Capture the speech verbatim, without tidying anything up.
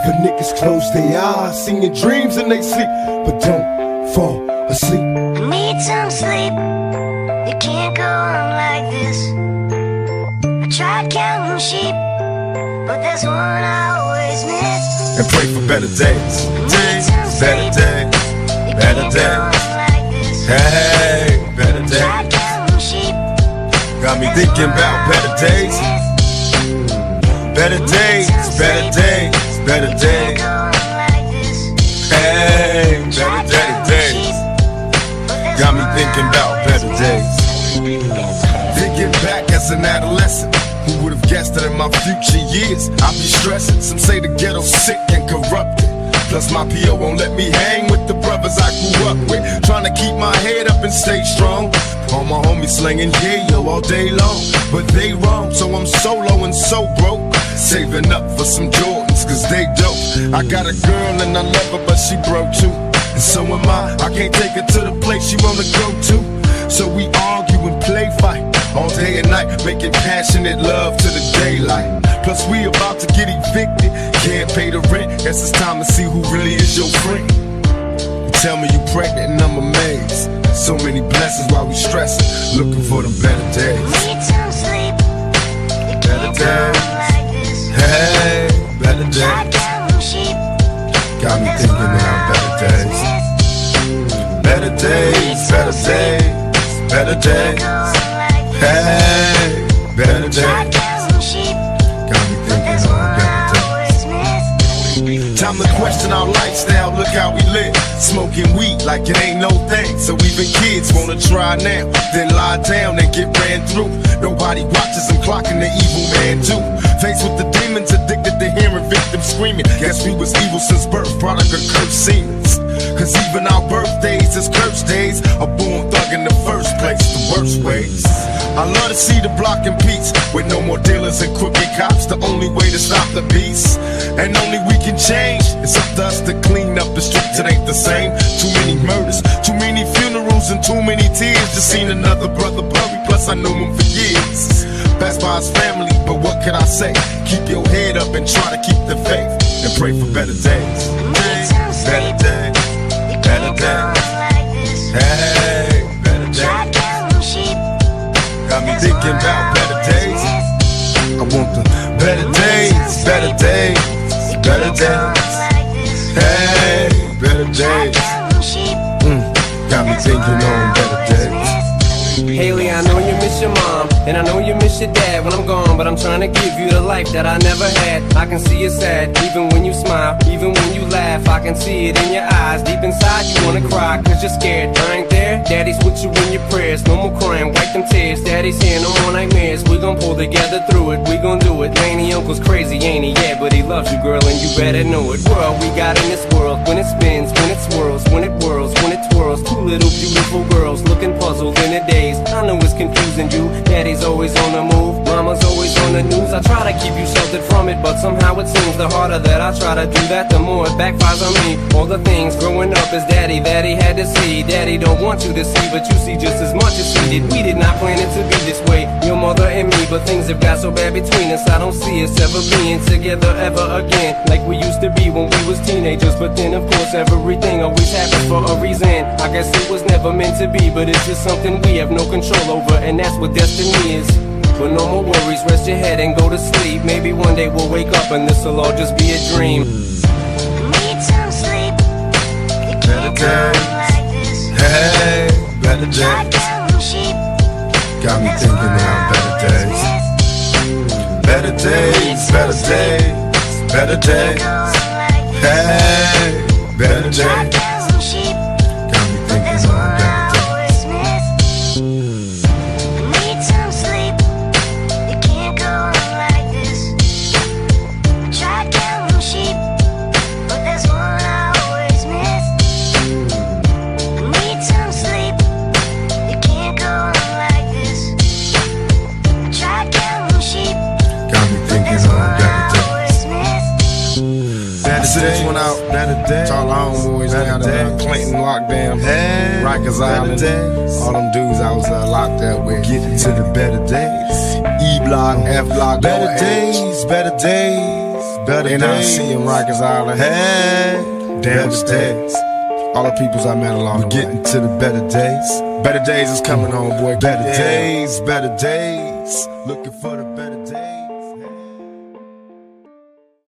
For niggas close their eyes, seeing dreams in they sleep, but don't fall asleep. I need some sleep. It can't go on like this. I tried counting sheep, but there's one I always miss. And pray for better days, days, better days, better days. Hey, better days. Got me thinking about better days. Better days, better days, better days. Hey, better, better days. Got me thinking about better days. Thinking back as an adolescent, who would have guessed that in my future years I'd be stressing? Some say the ghetto's sick and corrupted. Plus my P O won't let me hang with the brothers I grew up with. Trying to keep my head up and stay strong. All my homies slinging yeah-yo all day long, but they wrong, so I'm solo and so broke. Saving up for some Jordans, cause they dope. I got a girl and I love her, but she broke too. And so am I, I can't take her to the place she wanna go to. So we argue and play fight all day and night, making passionate love to the daylight. Plus we about to get evicted, can't pay the rent. Guess it's time to see who really is your friend. You tell me you pregnant and I'm amazed. So many blessings while we stressing, looking for the better days. Need some sleep. It Better can't go on days. like this. Hey, better Tried days. counting sheep, Got me thinking about better days. Better days, better days, better days. Hey, better days. Got me thinking about better days. Time to question our lifestyle, look how we live. Smoking weed like it ain't no thing. So even kids wanna try now, then lie down and get ran through. Nobody watches them clocking the evil man too. Faced with the demons, addicted to hearing victims screaming. Guess we was evil since birth, product of cursed seemings. Cause even our birthdays is cursed days. A born thug in the first place, the worst ways. I love to see the block in peace, with no more dealers and crooked cops. The only way to stop the beast, and only we can change. It's up to us to clean up the streets, it ain't the same. Too many murders, too many funerals, and too many tears. Just seen another brother buried, plus I knew him for years. Passed by his family, but what can I say? Keep your head up and try to keep the faith, and pray for better days. Better days, better days. Hey, better days. Got me thinking about better days. I want the better days, better days, better days. Hey, better days. Mm, got me thinking on better days. Haley, I know you miss your mom, and I know you miss your dad when I'm gone, but I'm trying to give you the life that I never had. I can see you sad, even when you smile, even when you laugh. I can see it in your eyes, deep inside you wanna cry, cause you're scared. I ain't there, daddy's with you in your prayers. No more crying, wipe them tears. Daddy's here, no more nightmares. We gon' pull together through it, we gon' do it. Laney uncle's crazy, ain't he? Yeah, but he loves you, girl, and you better know it. World we got in this world, when it spins, when it swirls, when it whirls, when it twirls. Two little beautiful girls looking puzzled in a daze. I know it's confusing you, daddy's always on the move, mama's always on the news. I try to keep you sheltered from it, but somehow it seems the harder that I try to do that, the more it backfires on me. All the things growing up as daddy that he had to see. Daddy don't want you to see, but you see just as much as he did. We did not plan it to be this way, your mother and me, but things have got so bad between us. I don't see us ever being together ever again, like we used to be when we was teenagers. But then of course everything always happens for a reason. I guess it was never meant to be, but it's just something we have no control over, and that's what destiny is. But no more worries, rest your head and go to sleep. Maybe one day we'll wake up and this'll all just be a dream. Need some sleep. It Better can't go on days. like this. Hey, better Tried days. counting sheep, Got me thinking about better days. Better days, better days, better days. Hey, better days. Got me thinking about better days. Need some sleep. It can't go on like this. Tried counting sheep, but there's one I always miss. Need some sleep. It can't go on like this. Tried counting sheep, Got me but thinking there's on one better I days. always miss. Better this one out, better days. All our homeboys down there, Clinton lockdown, hey, Rikers Island, days. All them dudes I was uh, locked up with. Getting to the better days. E block, F block, better days, better days, better N I C days. and Rikers Island. Hey, Damn better days. All the peoples I met along We're the way. getting to the better days. Better days is coming on, boy. Better Yeah. days, better days. Looking for the better days.